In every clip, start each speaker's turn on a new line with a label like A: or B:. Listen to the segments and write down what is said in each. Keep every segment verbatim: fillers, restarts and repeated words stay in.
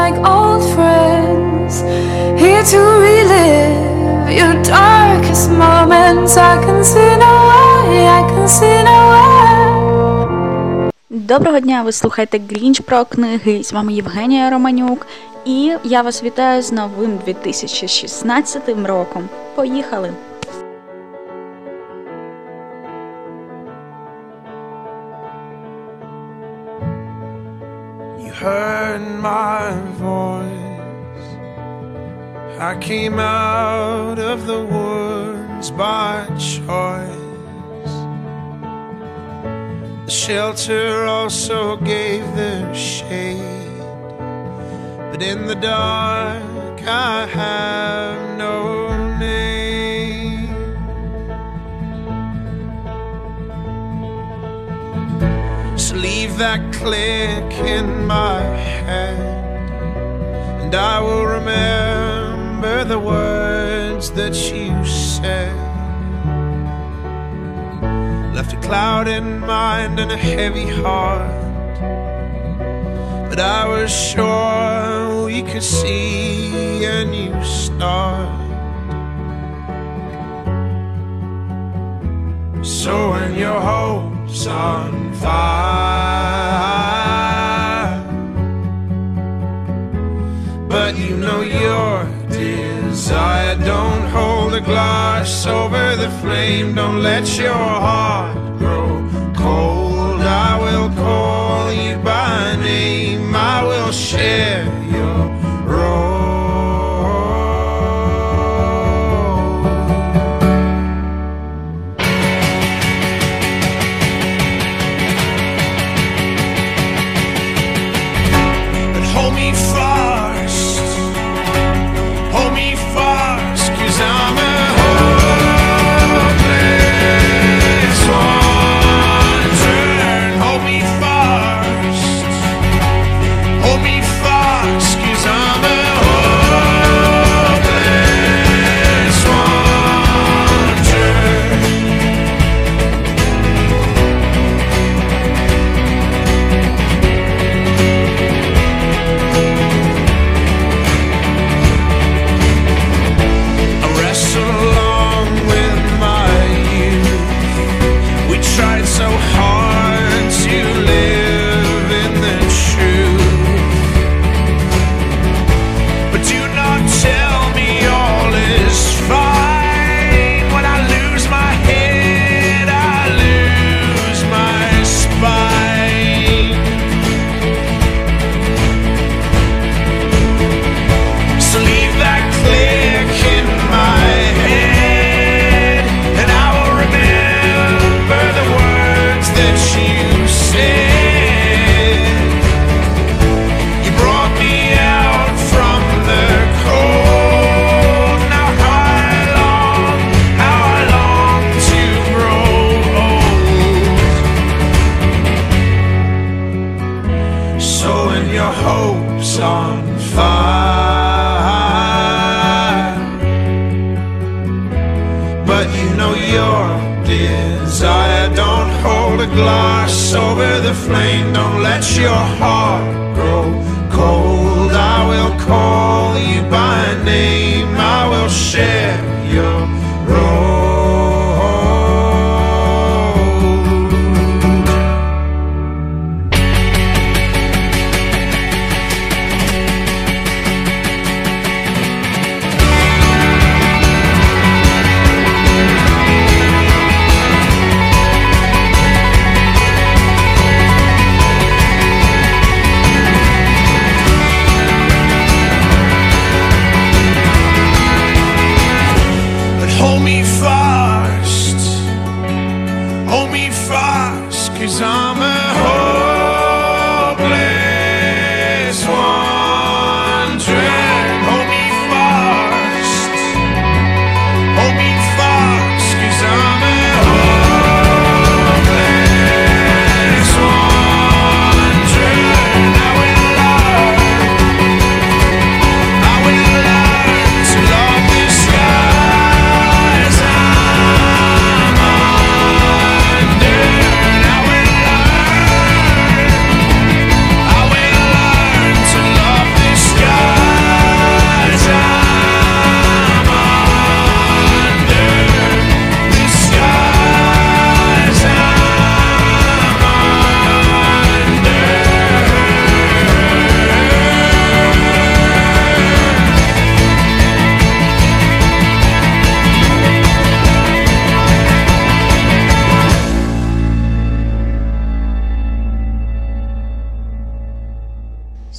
A: like old friends, here to relive your darkest moments. I can see no way, I can see no way.
B: Доброго дня, ви слухаєте Грінч про книги, з вами Євгенія Романюк, і я вас вітаю з новим дві тисячі шістнадцятим роком. Поїхали!
C: You heard my voice, I came out of the woods by choice. The shelter also gave their shade, but in the dark I have no name. So leave that click in my head, and I will remember the words that you said. Left a clouded mind and a heavy heart, but I was sure we could see a new start. So when your hope's on fire, but you know your desire, don't hold a glass over the flame, don't let your heart grow cold. I will call you by name, I will share your role. But hold me fast, hold me fast, 'cause I'm a hopeless wanderer. Hold me fast, hold me fast, 'cause I'm a hopeless wanderer. I wrestle along with my youth. We tried so hard to live in the truth, but do not tell me all is fine. When I lose my head, I lose my spine. So leave that click in my head, and I will remember the words that you said. You brought me out from the cold. Now how I long, how I long to grow old. So when your hope's on fire, but you know your desire, don't hold a glass over the flame, don't let your heart grow cold. I will call you by name, I will share your role. But hold me fast, hold me fast, 'cause I'm a hopeless wanderer. Hold me fast, hold me fast, 'cause I'm a hopeless wanderer. I will learn, I will learn to love the skies I'm under. I will learn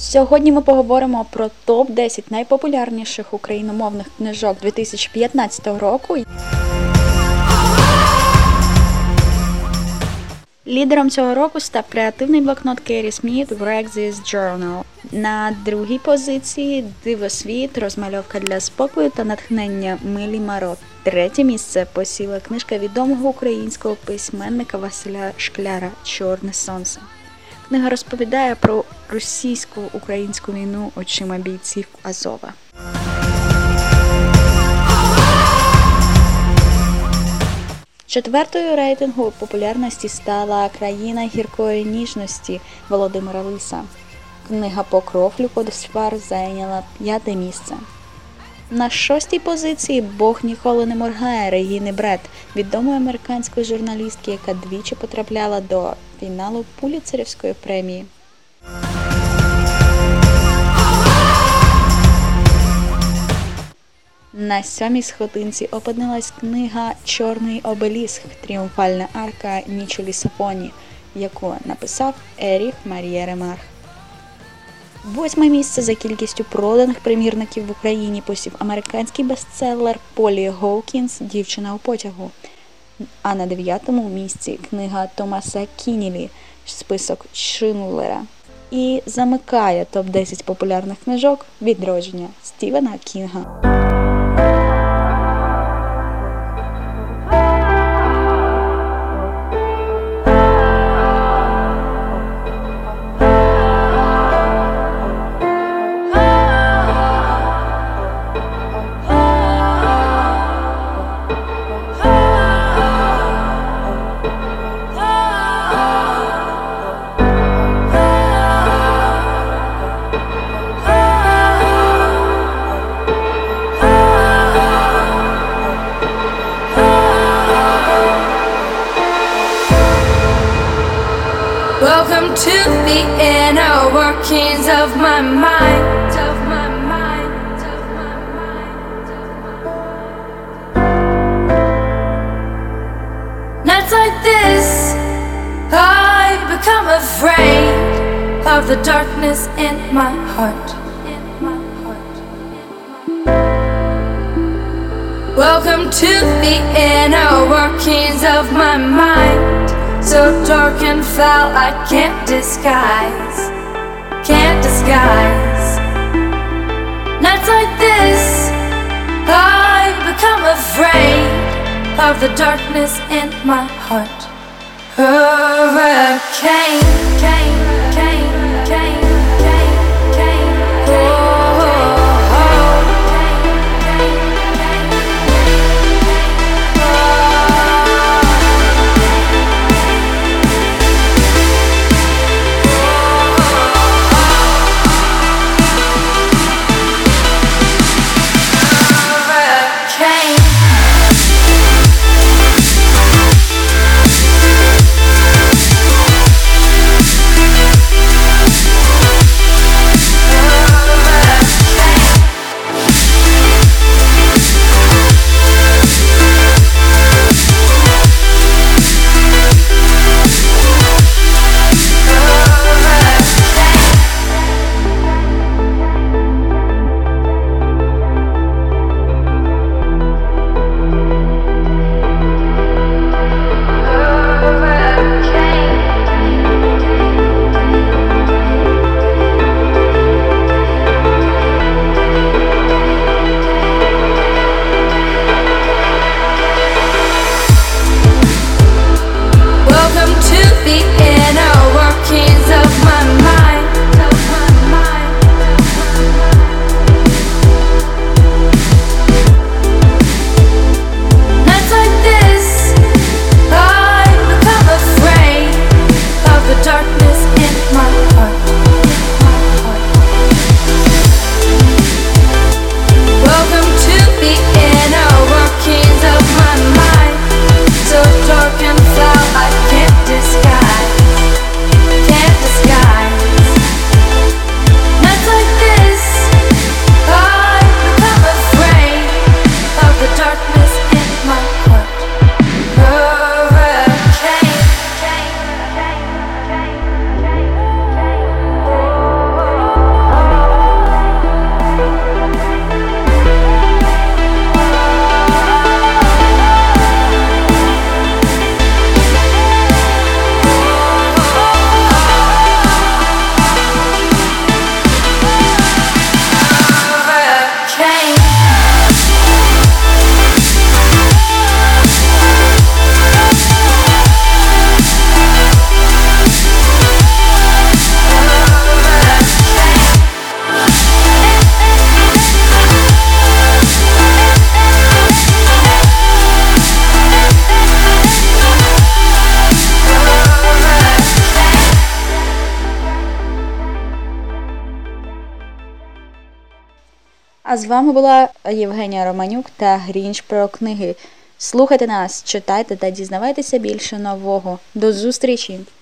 B: Сьогодні ми поговоримо про топ десять найпопулярніших україномовних книжок дві тисячі п'ятнадцятого року. Лідером цього року став креативний блокнот Керрі Сміт «Wreck This Journal». На другій позиції «Дивосвіт. Розмальовка для спокою та натхнення» Милі Марот. Третє місце посіла книжка відомого українського письменника Василя Шкляра «Чорне сонце». Книга розповідає про російсько-українську війну очима бійців Азова. Четвертою рейтингу популярності стала «Країна гіркої ніжності» Володимира Лиса. Книга «Покров» Люка Десвар зайняла п'яте місце. На шостій позиції «Бог ніколи не моргає» Регіни Брет, відомої американської журналістки, яка двічі потрапляла до фіналу Пулітцерівської премії. На сьомій сходинці опинилась книга «Чорний обеліск. Тріумфальна арка Мічелі Сафоні», яку написав Еріх Марія Ремарк. Восьме місце за кількістю проданих примірників в Україні посів американський бестселер Полі Гоукінс «Дівчина у потягу». А на дев'ятому місці книга Томаса Кіннелі «Список Шиндлера». І замикає топ десять популярних книжок «Відродження» Стівена Кінга.
A: Welcome to the inner workings of my mind, of my mind, of my mind, of my mind. Nights like this, I become afraid of the darkness in my heart, in my heart. Welcome to the inner workings of my mind. So dark and foul I can't disguise, can't disguise. Nights like this, I become afraid of the darkness in my heart. Hurricane, cane, cane, cane, cane, cane, oh, oh, oh.
B: А з вами була Євгенія Романюк та Грінч про книги. Слухайте нас, читайте та дізнавайтеся більше нового. До зустрічі!